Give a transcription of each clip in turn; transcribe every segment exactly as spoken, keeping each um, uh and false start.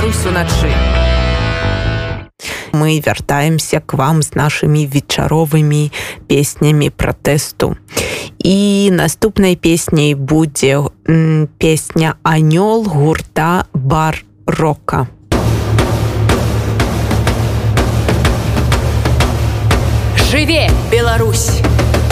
Беларусь уначы. Мы вяртаемся к вам з нашымі вечаровымі песнямі пратэсту. І наступнай песняй будзе м, песня «Анёл» гурта «Бар-рока». Жыве, Беларусь!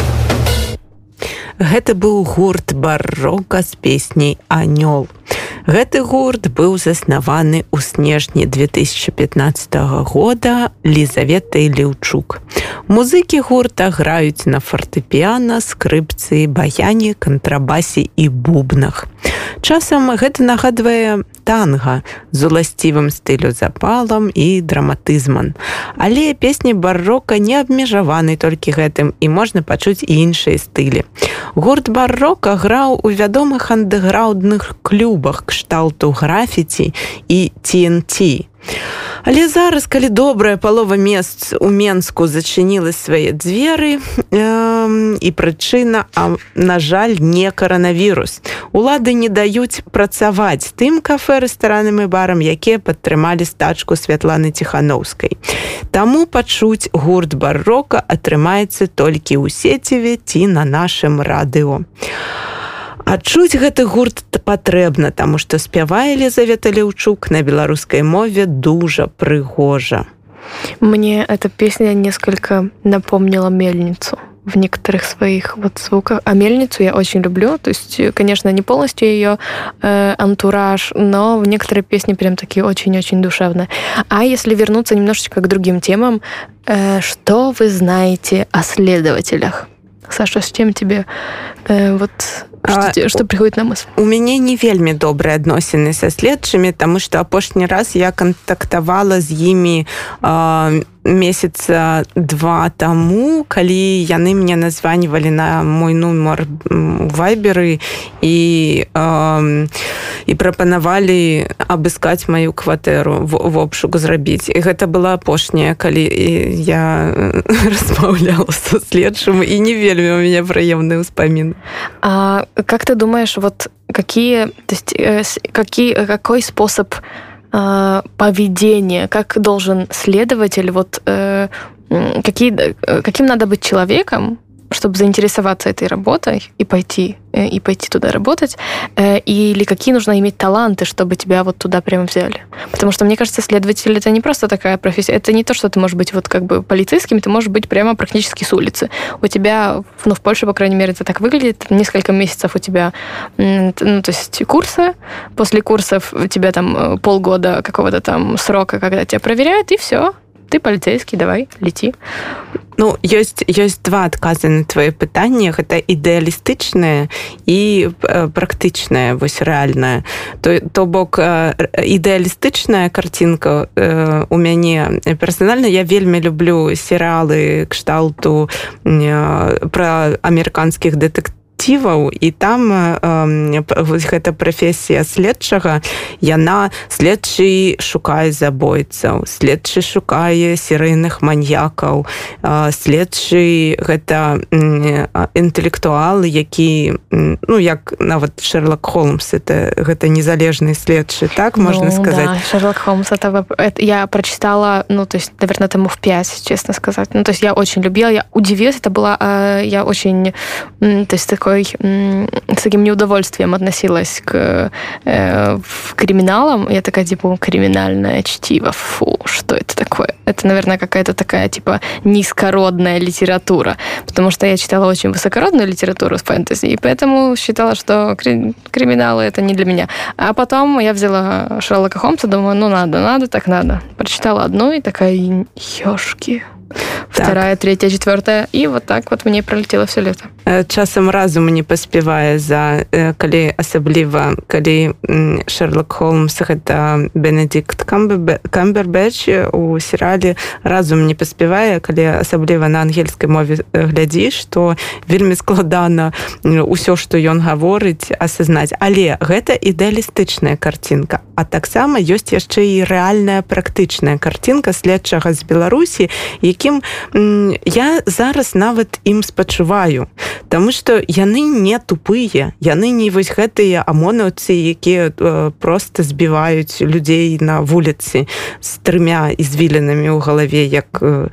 Гэта быў гурт «Бар-рока» з песняй «Анёл». Гэты гурт быў заснаваны ў снежні две тысячи пятнадцатого года Лізаветай Леўчук. Музыкі гурта граюць на фартэпіяна, скрыпцы, баяне, кантрабасе і бубнах. Часам гэта нагадвае танга з уласцівым стылю запалам і драматызмам. Але песні «Бар-рока» не абмежаваны толькі гэтым, і можна пачуць і іншыя стылі. Гурт «Бар-рока» граў у вядомых андэграўндных клубах кшталту графіці і Ти Эн Ти. Але зараз, калі добрая палова мест у Менску зачынілі свае дзверы, э, і прычына, а, на жаль, не каранавірус. Улады не даюць працаваць тым кафэ, рэстаранам і барам, якія падтрымалі стачку Святланы Ціханаўскай. Таму пачуць гурт «Бар-рока» атрымаецца толькі ў сеціве ці на нашым радыё. А чуць гэты гурт патрэбна, таму што спявае Лізавета Леўчук на беларускай мове дужа прыгожа. Мне эта песня несколько напомнила «Мельницу» в некоторых своих вот звуках. А «Мельницу» я очень люблю. То есть, конечно, не полностью ее э, антураж, но в некоторые песни прям такие очень-очень душевные. А если вернуться немножечко к другим темам, э, что вы знаете о следователях? Саша, с чем тебе э, вот... Что, а, что приходит на мысль? У мяне не вельмі добрыя адносіны са следчымі, таму што апошні раз я кантактавала з імі э, месяца два таму, калі яны мне названівалі на мой нумар у вайберы і, э, і прапанавалі абыскаць маю кватэру, в обшук зрабіць. І гэта была апошняя, калі я размаўляла са следчым, і не вельмі у мяне прыемны ўспамін. А как ты думаешь, вот какие, то есть, э, какие, какой способ э, поведения, как должен следователь, вот э, какие, каким надо быть человеком, чтобы заинтересоваться этой работой и пойти, и пойти туда работать, или какие нужно иметь таланты, чтобы тебя вот туда прямо взяли? Потому что, мне кажется, следователь — это не просто такая профессия, это не то, что ты можешь быть вот как бы полицейским, ты можешь быть прямо практически с улицы. У тебя, ну, в Польше, по крайней мере, это так выглядит, несколько месяцев у тебя, ну, то есть курсы, после курсов у тебя там полгода какого-то там срока, когда тебя проверяют, и все. Ты полицейский, давай, лети. Ну, ёсць, ёсць два адказы на твои пытанні. Гэта ідэалістычнае і практычнае, вось рэальнае. То, то бок ідэалістычная картинка э, у мяне персанальна. Я вельмі люблю серыялы кшталту э, пра амерыканскіх дэтэктываў, і там э, гэта прафесія следчага, яна следчы шукае забойцаў, следчы шукае серыйных маньякаў, э, следчы гэта э, інтэлектуал, які, ну, як нават Шерлок Холмс, это, гэта незалежны следчы, так можно ну, сказать? Да, Шерлок Холмс, это, это я прочитала, ну, то есть, наверное, тому в пять, честно сказать. Ну, то есть, я очень любила, я удивилась, это была, э, я очень, то есть, такой с таким неудовольствием относилась к э, криминалам. Я такая, типа, криминальное чтиво. Фу, что это такое? Это, наверное, какая-то такая, типа, низкородная литература. Потому что я читала очень высокородную литературу с фэнтези, и поэтому считала, что кри- криминалы — это не для меня. А потом я взяла Шерлока Холмса, думаю, ну, надо, надо, так надо. Прочитала одну, и такая, ёшки... Вторая, так. Третья, четвертая. И вот так вот мне пролетело все лето. Часам разум не паспявае за, калі асабліва, калі Шерлок Холмс гэта Бенедикт Камбербэтч у серыяле, разум не паспявае, калі асабліва на ангельскай мове глядзіш, што вельмі складана ўсё, што ён гаворыць, асазнаць. Але гэта ідэалістычная картинка. А таксама ёсць яшчэ і рэальная практычная картинка следчага з Беларусі, які якім я зараз нават ім спачуваю, таму што яны не тупыя, яны не вось гэтыя амонаўцы, якія проста збіваюць людзей на вуліцы з трымя ізвілінамі ў галаве, як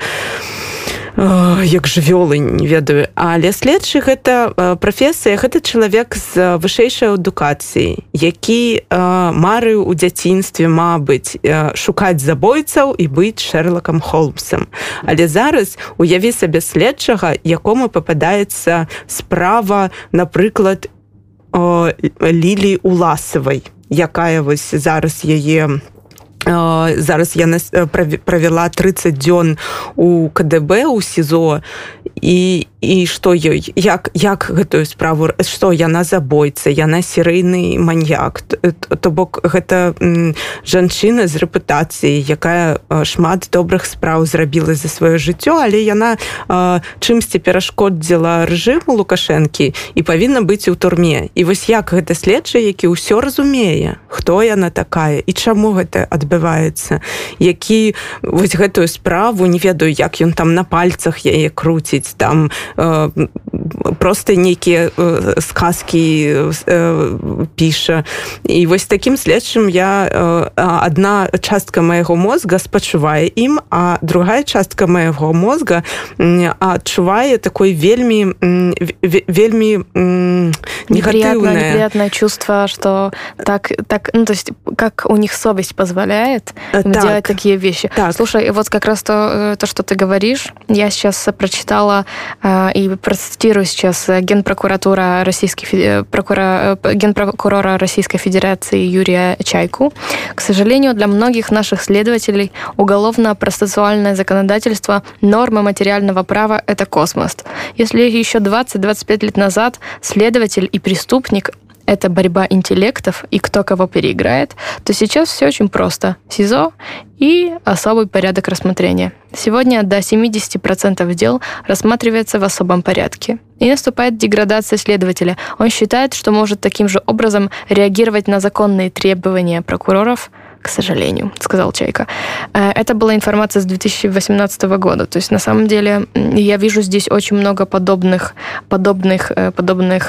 як жывёлы, не ведаю. Але следчы гэта прафесія, гэта чалавек з вышэйшай адукацыяй, які марыў у дзяцінстве, мабыць, шукаць забойцаў і быць Шэрлакам Холмсам. Але зараз уяві сабе следчага, якому пападаецца справа, напрыклад, Лілі Уласавай, якая вось зараз яе зараз яна правяла трыццаць дзён у ка дэ бэ, у СІЗО, і, і што ёй, як, як гэтую справу, што яна забойца, яна серыйны маньяк, то бок гэта жанчына з рэпутацыяй, якая шмат добрых спраў зрабіла за сваё жыццё, але яна чымсьці перашкодзіла рэжыму Лукашэнкі і павінна быць у турме. І вось як гэта следчы, які ўсё разумее, хто яна такая і чаму гэта адбываецца, які вось гэтую справу, не ведаю, як ён там на пальцах яе круціць, там э, просто нейкія э, сказкі э, піша. І вось такім следчым я э, адна частка майго мозга спачувае ім, а другая частка майго мозга э, адчувае такой вельмі э, вельмі э, негатыўнае неприятное чувство, что так, так, ну, то есть как у них совесть позволяет им так делать такие вещи. Так. Слушай, вот как раз то, то, что ты говоришь, я сейчас прочитала э, и процитирую сейчас генпрокуратура Российской, прокура, генпрокурора Российской Федерации Юрия Чайку. К сожалению, для многих наших следователей уголовно-процессуальное законодательство, нормы материального права – это космос. Если еще двадцать-двадцать пять лет назад следователь и преступник – это борьба интеллектов и кто кого переиграет, то сейчас все очень просто. СИЗО и особый порядок рассмотрения. Сегодня до семьдесят процентов дел рассматривается в особом порядке. И наступает деградация следователя. Он считает, что может таким же образом реагировать на законные требования прокуроров, к сожалению, сказал Чайка. Это была информация с две тысячи восемнадцатого года. То есть, на самом деле, я вижу здесь очень много подобных, подобных, подобных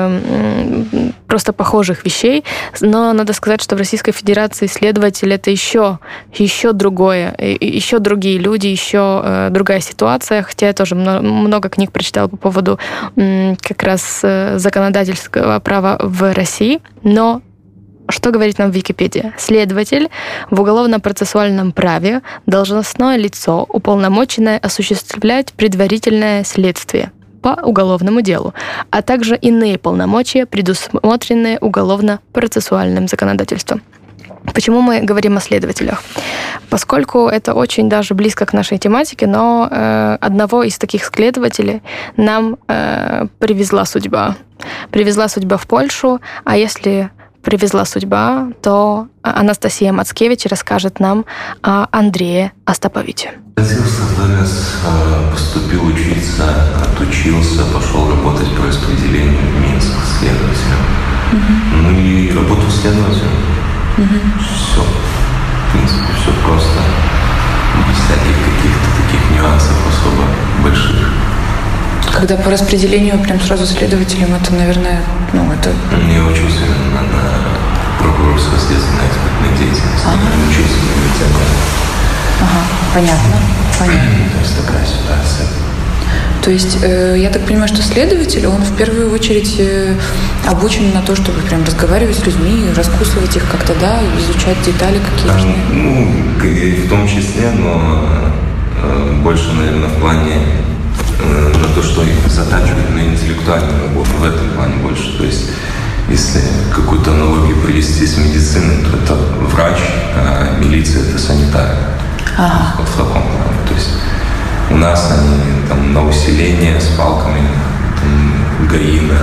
просто похожих вещей. Но надо сказать, что в Российской Федерации следователь — это еще, еще другое, еще другие люди, еще другая ситуация. Хотя я тоже много книг прочитала по поводу как раз законодательского права в России. Но что говорит нам Википедия? Следователь в уголовно-процессуальном праве должностное лицо, уполномоченное осуществлять предварительное следствие по уголовному делу, а также иные полномочия, предусмотренные уголовно-процессуальным законодательством. Почему мы говорим о следователях? Поскольку это очень даже близко к нашей тематике, но э, одного из таких следователей нам э, привезла судьба. Привезла судьба в Польшу, а если привезла судьба, то Анастасия Мацкевич расскажет нам о Андрее Остаповиче. Родился в ВРС, поступил учиться, отучился, пошел работать по распределению в Минск следователем. Mm-hmm. Ну и работал следователем. Mm-hmm. Все. В принципе, все просто. Без всяких каких-то таких нюансов особо больших. Когда по распределению прям сразу следователем, это, наверное, ну, это... Я учился на, на прокурорско-следственной экспертной деятельности. Ага. Я учился на университете. Ага, понятно, понятно. То есть такая ситуация. То есть, э, я так понимаю, что следователь, он в первую очередь э, обучен на то, чтобы прям разговаривать с людьми, раскусывать их как-то, да, изучать детали какие-то. А, ну, в том числе, но э, больше, наверное, в плане на то, что их затачивают на интеллектуальную работу, в этом плане больше. То есть, если какую-то аналогию привести с медициной, то это врач, а милиция — это санитар. Ага. Вот в таком плане. То есть у нас они там на усиление с палками, там, гаина,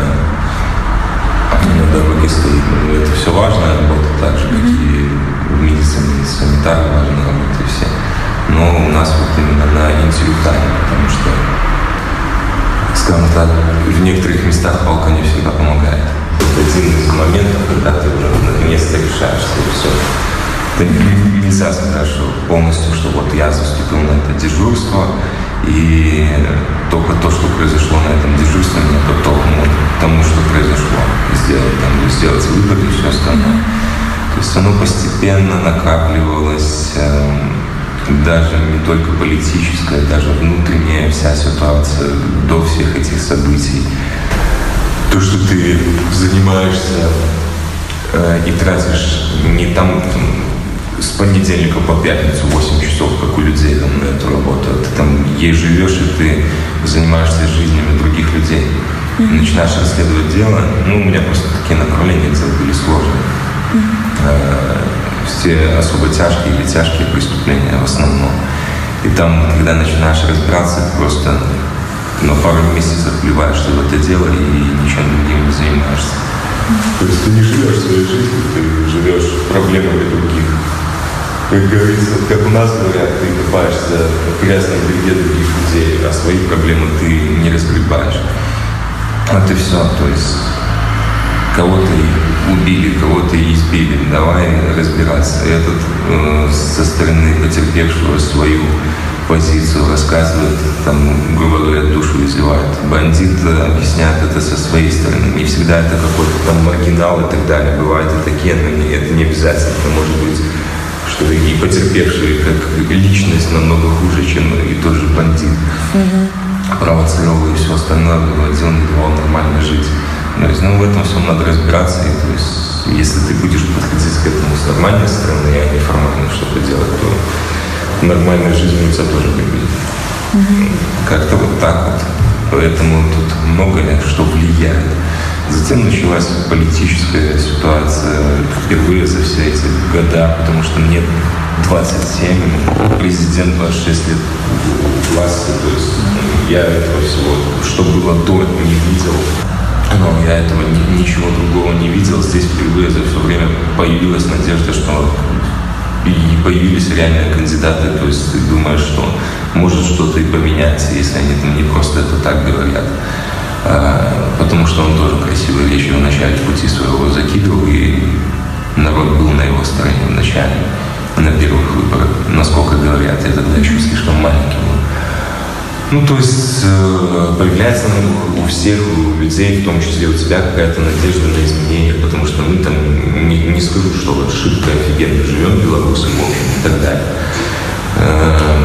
на дороге стоит. Это все важная работа, так же, как mm-hmm. и в медицине санитар важная работа, и все. Но у нас вот именно на интеллектуальной, потому что, скажем так, в некоторых местах палка не всегда помогает. Это один из моментов, когда ты уже наконец-то решаешь, что все. Ты нельзя сказать, что полностью, что вот я заступил на это дежурство, И только то, что произошло на этом дежурстве, меня подтолкнуло к тому, что произошло. Сделать, там, сделать выбор и все остальное. То есть оно постепенно накапливалось, э, даже не только политическая, даже внутренняя вся ситуация до всех этих событий. То, что ты занимаешься э, и тратишь не там, там с понедельника по пятницу восемь часов, как у людей там на эту работу. Ты там ей живешь, и ты занимаешься жизнями других людей. Mm-hmm. Начинаешь расследовать дело. Ну, у меня просто такие направления дел были сложные. Mm-hmm. Э, все особо тяжкие или тяжкие преступления в основном. И там, когда начинаешь разбираться, ты просто на пару месяцев вливаешься в это дело и ничем другим не занимаешься. Mm-hmm. То есть ты не живешь своей жизнью, ты живешь проблемами других. Как говорится, как у нас говорят, ты копаешься в грязной беде других людей, а свои проблемы ты не разгребаешь. Вот и все. То есть кого-то убили, кого-то избили. Давай разбираться. Этот э, со стороны потерпевшего свою позицию рассказывает, там, грубо говоря, душу изливает. Бандит объясняет это со своей стороны. Не всегда это какой-то там маргинал и так далее. Бывают и такие, но не, это не обязательно. Это может быть, что и потерпевшие как личность намного хуже, чем и тот же бандит. Mm-hmm. Провоцировал и все остальное, выводил, не давал нормально жить. То есть, ну, в этом всем надо разбираться. И, то есть, если ты будешь подходить к этому с нормальной стороны, а не формально что-то делать, то нормальная жизнь у тебя тоже не будет. Mm-hmm. Как-то вот так вот. Поэтому тут много что влияет. Затем началась политическая ситуация впервые за все эти года, потому что мне двадцать семь, президент двадцать шесть лет власти, то есть я этого всего, что было до, не видел. Но я этого ни, ничего другого не видел. Здесь впервые за все время появилась надежда, что и появились реальные кандидаты, то есть ты думаешь, что может что-то и поменяться, если они там не просто это так говорят. А, потому что он тоже красивые вещи в начале пути своего закидывал, и народ был на его стороне в начале, на первых выборах. Насколько говорят, я тогда еще слишком маленький был. Ну, то есть э, появляется у всех, у людей, в том числе у тебя, какая-то надежда на изменения, потому что мы там, не, не скажу, что вот шибко офигенно живем белорусам, в общем, и так далее. Э,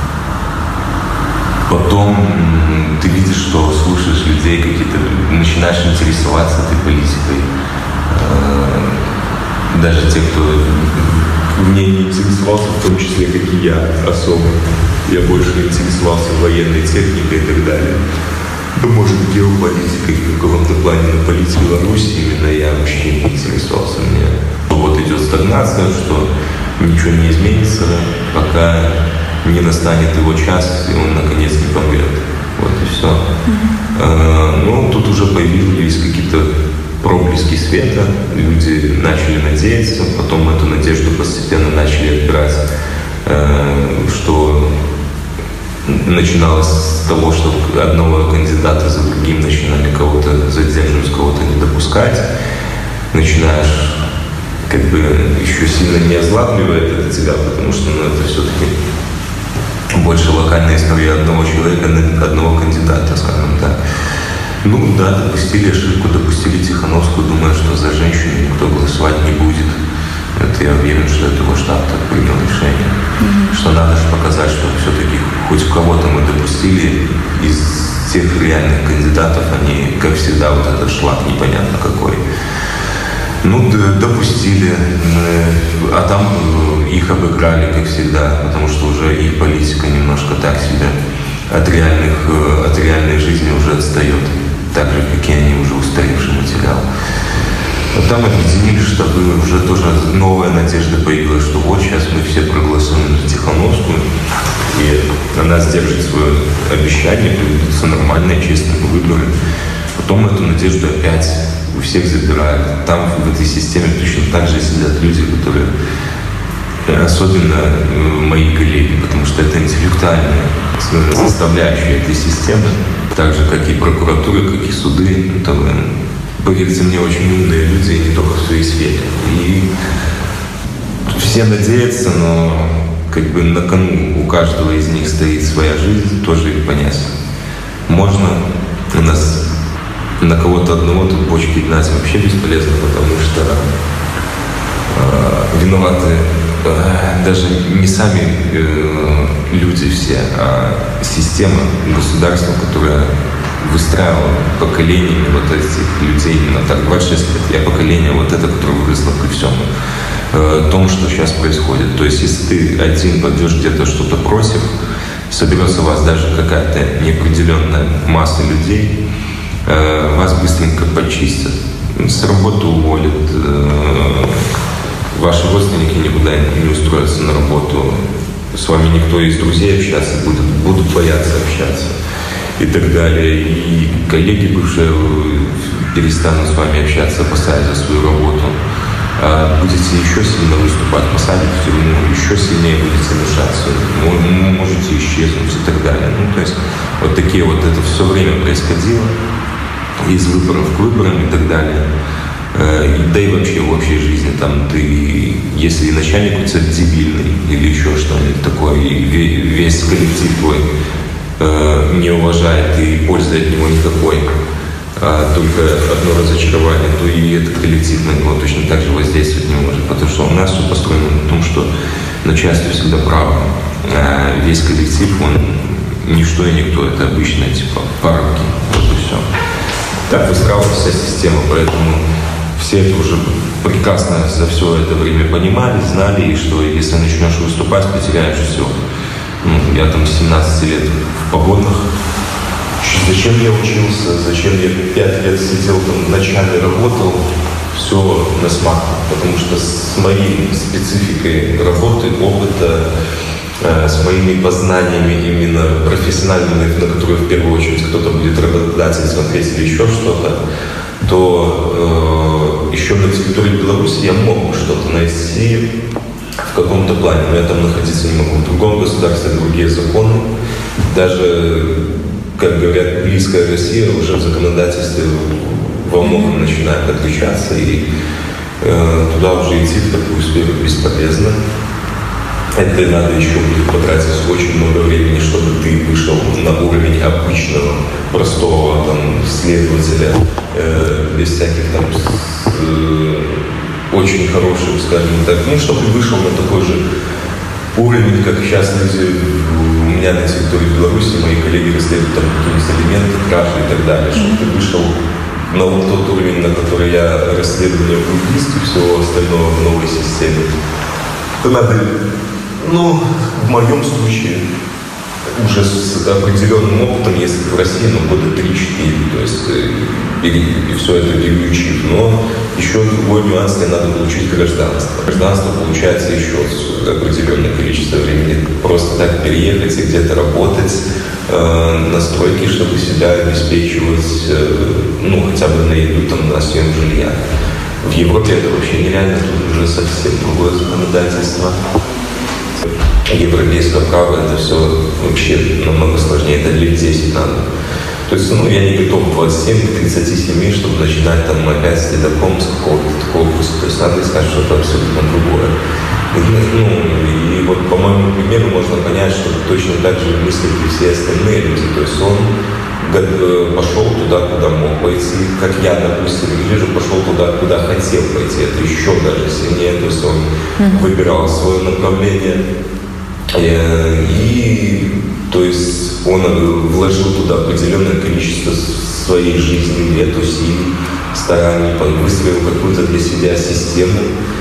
потом ты видишь, что слушаешь людей какие-то, начинаешь интересоваться этой политикой. Э, даже те, кто в ней не интересовался, в том числе, как и я, особо. Я больше интересовался военной техникой и так далее. Да, может, геополитикой в каком-то плане, но политикой Беларуси именно я вообще не интересовался. Мне вот идет стагнация, что ничего не изменится, пока не настанет его час, и он наконец не помрет. Вот и все. Mm-hmm. А, ну, тут уже появились какие-то проблески света, люди начали надеяться, потом эту надежду постепенно начали отбирать, что начиналось с того, что одного кандидата за другим начинали кого-то задерживать, кого-то не допускать. Начинаешь, как бы, еще сильно не озлабливает это тебя, потому что, ну, это все-таки больше локальная история одного человека, одного кандидата, скажем так. Ну да, допустили ошибку, допустили Тихановскую, думая, что за женщину никто голосовать не будет. Это я уверен, что это его штаб так принял решение. Mm-hmm. Что надо же показать, что все-таки хоть кого-то мы допустили из тех реальных кандидатов, они, как всегда, вот этот шлак непонятно какой. Ну, допустили, а там их обыграли, как всегда, потому что уже их политика немножко так себе от реальных, от реальной жизни уже отстает, так же, как и они, уже устаревший материал. А там объединили штабы, уже тоже новая надежда появилась, что вот сейчас мы все проголосуем за Тихановскую, и она сдержит свое обещание, проведутся нормальные, честные выборы. Потом эту надежду опять у всех забирают. Там в этой системе точно так же сидят люди, которые, особенно мои коллеги, потому что это интеллектуальная составляющая этой системы, так же, как и прокуратура, как и суды. Это, поверьте мне, очень умные люди, и не только в своей сфере. И все надеются, но как бы на кону у каждого из них стоит своя жизнь, тоже их понять. Можно у нас на кого-то одного тут бочки гнать вообще бесполезно, потому что э, виноваты э, даже не сами э, люди все, а система, государство, которое выстраивало поколениями вот этих людей именно так. двадцать шесть лет. Я поколение вот это, которое выросло при всем э, том, что сейчас происходит. То есть, если ты один пойдешь где-то что-то против, соберется у вас даже какая-то неопределенная масса людей, э, вас быстренько почистят, с работы уволят, э, ваши родственники никуда не устроятся на работу, с вами никто из друзей общаться будет, будут бояться общаться и так далее. И коллеги бывшие перестанут с вами общаться, опасаясь за свою работу. А будете еще сильно выступать, посадят в тюрьму, еще сильнее будете мешаться, можете исчезнуть и так далее. Ну, то есть вот такие вот это все время происходило, из выборов к выборам и так далее. Да и вообще в общей жизни, там ты, если начальник у тебя дебильный или еще что-нибудь такое, и весь коллектив твой э, не уважает и пользы от него никакой, а только одно разочарование, то и этот коллектив на него точно так же воздействовать не может, потому что у нас все построено на том, что начальство всегда право, а весь коллектив, он ничто и никто, это обычные типа парки, вот и все. Так выстраивалась вся система, поэтому все это уже прекрасно за все это время понимали, знали, и что если начнешь выступать, потеряешь все. Ну, я там с семнадцати лет в погонах. Зачем я учился, зачем я пять лет сидел там в начале, работал, все на смак. Потому что с моей спецификой работы, опыта, э, с моими познаниями именно профессиональными, на которые в первую очередь кто-то будет работодатель смотреть или еще что-то, то э, еще на территории Беларуси я мог что-то найти в каком-то плане, но я там находиться не могу. В другом государстве другие законы, даже, как говорят, близкая Россия уже в законодательстве во многом начинает отличаться, и э, туда уже идти в такую сферу бесполезно. Это надо еще будет потратить очень много времени, чтобы ты вышел на уровень обычного, простого там, следователя, э, без всяких там э, очень хороших, скажем так, ну, чтобы ты вышел на такой же уровень, как сейчас люди у меня на территории Беларуси, мои коллеги расследуют там какие-нибудь элементы, кражи и так далее, чтобы ты вышел на вот тот уровень, на который я расследование убийств и всего остального в новой системе. То надо, ну, в моем случае, уже с определенным опытом, если в России, ну, года три-четыре, то есть и, и все это переучив. Но еще другой нюанс, тебе надо получить гражданство. Гражданство получается еще определенное количество времени. Просто так переехать и где-то работать э, на стройке, чтобы себя обеспечивать, э, ну, хотя бы на еду, там, на съем жилья. В Европе это вообще нереально, тут уже совсем другое законодательство. Европейское право, это все вообще намного сложнее, это лет десять надо. То есть, ну, я не готов в двадцать семь к тридцати семи, чтобы начинать там опять с ледоком, с какого-то корпуса. То есть надо искать что-то абсолютно другое. И, ну, и вот по моему примеру можно понять, что точно так же мыслят и все остальные люди. То есть он пошел туда, куда мог пойти, как я, допустим, или же пошел туда, куда хотел пойти. Это еще даже сильнее. То есть он mm-hmm. выбирал свое направление. И, то есть, он вложил туда определенное количество своей жизни, лет, усилий, стараний, выстроил какую-то для себя систему.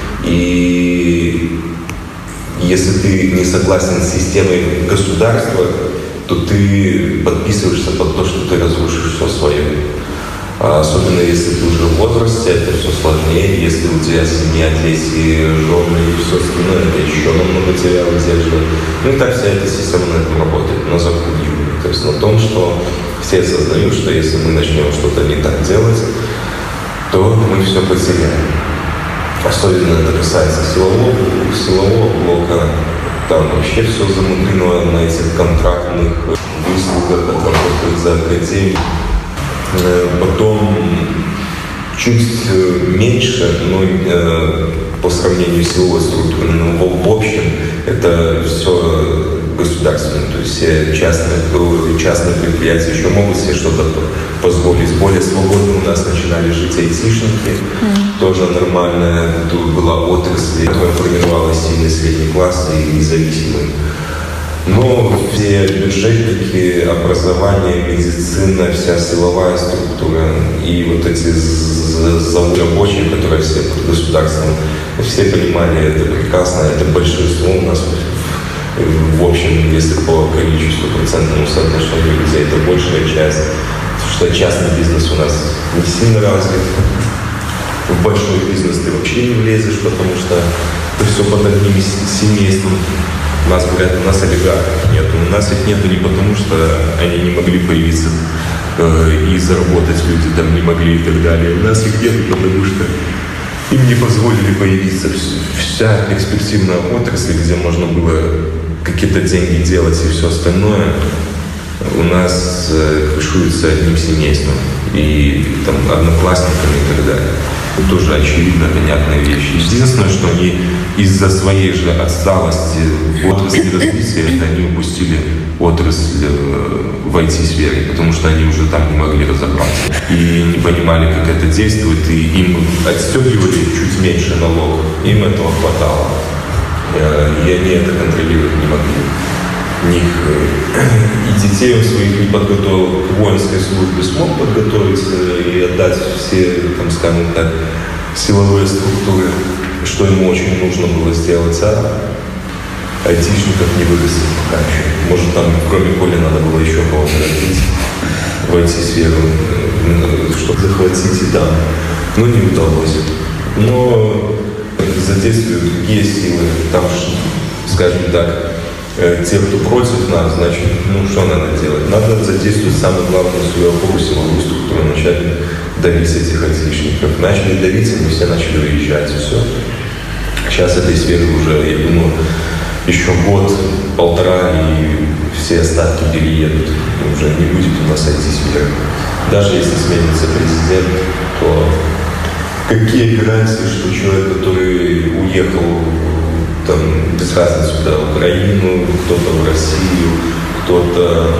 И если ты не согласен с системой государства, то ты подписываешься под то, что ты разрушишь все свое. А особенно если ты уже в возрасте, это все сложнее. Если у тебя семья, дети, жены и все остальное, это еще намного тебя выдерживает. Ну и так вся эта система на этом работает, на запугивании. То есть на том, что все осознают, что если мы начнем что-то не так делать, то мы все потеряем. Особенно это касается силового, силового блока. Там вообще все замудрено на этих контрактных выслугах, от работы за академией. Потом чуть меньше, но э, после сравнению с силовой структурой. Но в общем это все государственное. То есть все частные, частные предприятия еще могут себе что-то позволить. Более свободно у нас начинали жить айтишники. Mm. Тоже нормальная была отрасль, которая формировалась сильный средний класс и независимый. Но все бюджетники, образование, медицина, вся силовая структура и вот эти заводы рабочие, которые все под государством, все понимали это прекрасно, это большинство у нас. В общем, если по количеству процентному соотношению людей, это большая часть, потому что частный бизнес у нас не сильно развит. В большой бизнес ты вообще не влезешь, потому что ты все под одним семейством. У нас говорят, у нас олигархов нет. У нас их нету не потому, что они не могли появиться э, и заработать, люди там не могли и так далее. У нас их нет, потому что им не позволили появиться. Вся перспективная отрасль, где можно было какие-то деньги делать и все остальное, у нас э, крышуется одним семейством и там одноклассниками и так далее. Это тоже очевидно понятная вещь. Единственное, что они из-за своей же отсталости в отрасли развития, это они упустили отрасль в ай ти-сфере, потому что они уже там не могли разобраться и не понимали, как это действует, и им отстегивали чуть меньше налог, им этого хватало, и они это контролировать не могли. Них и детей он своих не подготовил к воинской службе, смог подготовить и отдать все, там, скажем так, силовые структуры, что ему очень нужно было сделать, а айтишников не вырастет пока еще. Может, там, кроме Коли, надо было еще кого-то родить в ай ти-сферу, чтобы захватить и там. Но не удалось. Но задействуют другие силы, там, скажем так, те, кто против нас, значит, ну, что надо делать? Надо задействовать самую главную свою опору, силовую структуру, начать давить этих айтишников. Начали давить, мы все начали уезжать, и все. Сейчас этой сферы уже, я думаю, еще год, полтора, и все остатки переедут. Уже не будет у нас ай ти-сферы. Даже если сменится президент, то какие гарантии, что человек, который уехал там, без разницы, куда, в Украину, кто-то в Россию, кто-то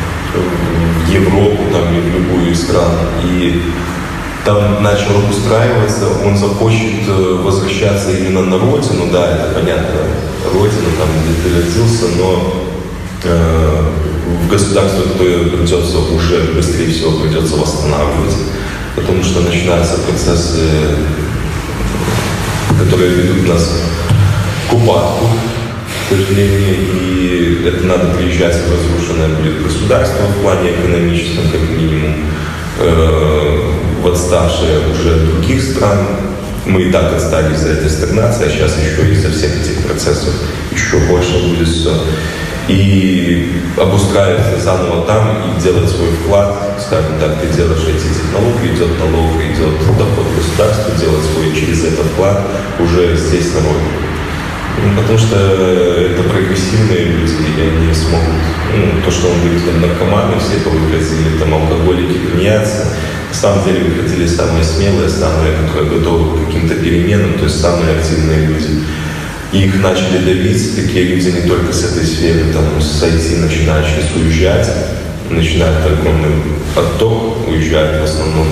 в Европу, там, или в любую из стран, и там начал устраиваться, он захочет возвращаться именно на родину, да, это понятно, родина, там, где ты родился, но э, в государство, которое придется уже, быстрее всего, придется восстанавливать, потому что начинаются процессы, которые ведут нас к упадку, к сожалению, и это надо приезжать в разрушенное будет государство в плане экономическом, как минимум, э, в отставшие уже других стран. Мы и так отстали из-за этой стагнации, а сейчас еще из-за всех этих процессов еще больше будет все. И обустраиваться заново там и делать свой вклад, скажем так, ты делаешь эти технологии, идет налог, идет доход государства, делать свой через этот вклад уже здесь на родине. Потому что это прогрессивные люди, и они смогут, ну, то, что он говорит, там, наркоманы все повыходили, там, алкоголики, тунеядцы. На самом деле выходили самые смелые, самые, которые готовы к каким-то переменам, то есть самые активные люди. И их начали давить, такие люди не только с этой сферы, там, с ай ти начинают сейчас уезжать, начинает огромный отток, уезжают в основном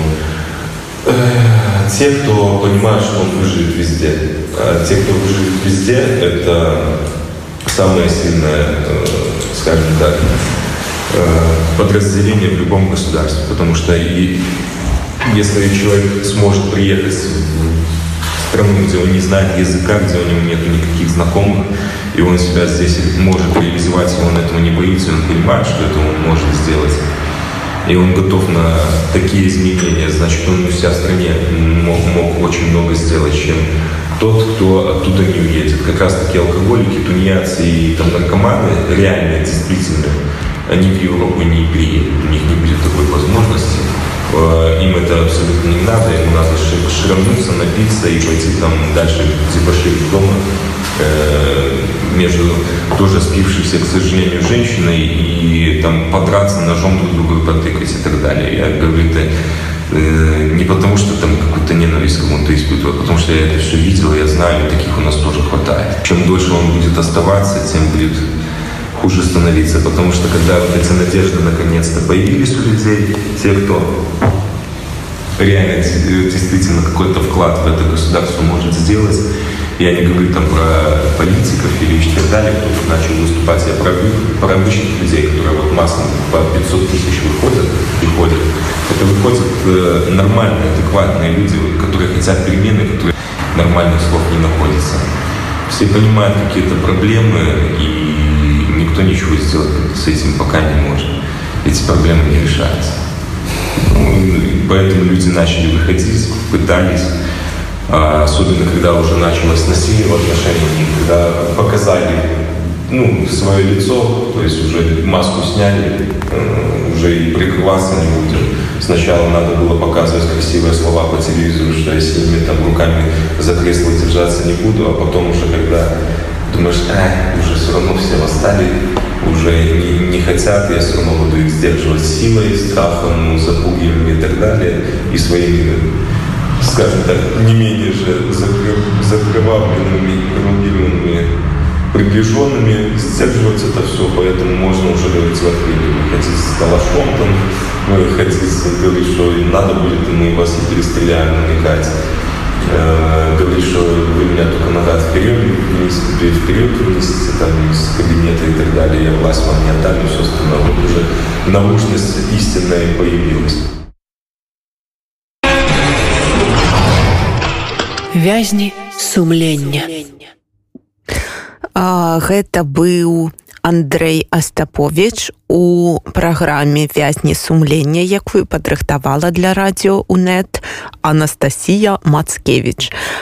те, кто понимает, что он выживет везде. А те, кто выживет везде, это самое сильное, скажем так, подразделение в любом государстве. Потому что и если человек сможет приехать в страну, где он не знает языка, где у него нет никаких знакомых, и он себя здесь может реализовать, и он этого не боится, и он понимает, что это он может сделать, и он готов на такие изменения, значит, он у себя в стране мог, мог очень много сделать, чем тот, кто оттуда не уедет. Как раз таки алкоголики, тунеядцы и там, наркоманы, реально, действительно, они в Европу не приедут, у них не будет такой возможности. Им это абсолютно не надо, им надо ширануться, напиться и пойти там дальше дебоширить дома э, между тоже спившейся, к сожалению, женщиной и там подраться ножом друг друга потыкать и так далее. Я говорю, это Не потому, что там какую-то ненависть кому-то испытываю, а потому что я это все видел, я знаю, таких у нас тоже хватает. Чем дольше он будет оставаться, тем будет хуже становиться, потому что когда вот эти надежды наконец-то появились у людей, те, кто реально действительно какой-то вклад в это государство может сделать, я не говорю там про политиков или еще так далее, кто тут начал выступать, я про, про обычных людей, которые вот массово по пятьсот тысяч выходят, приходят. Это выходят нормальные, адекватные люди, которые хотят перемены, которые нормальных слов не находятся. Все понимают какие-то проблемы, и никто ничего сделать с этим пока не может. Эти проблемы не решаются. Ну, поэтому люди начали выходить, пытались. Особенно, когда уже началось насилие в отношениях, когда показали ну, свое лицо, то есть уже маску сняли, уже и прикрываться не будем. Сначала надо было показывать красивые слова по телевизору, что я сильными там руками за кресло держаться не буду, а потом уже когда думаешь, а, уже все равно все восстали, уже не, не хотят, я все равно буду их сдерживать силой, страхом, запугиванием и так далее, и своими, скажем так, не менее же закрывавленными, коррумпированными приближенными, сдерживать это все, поэтому можно уже говорить в открытую, выходить с калашом, там, выходить, говорить, что надо будет, и мы вас не перестреляем, намекать, э, говорить, что вы меня только назад вперед, вниз, вперед вынесите там из кабинета и так далее, я власть вам не отдам, и все остальное. Вот уже научность истинная появилась. Вязні сумлення. А, гэта быў Андрэй Астапович у праграме «Вязні сумлення», якую падрыхтавала для радыё УНэт Анастасія Мацкевіч.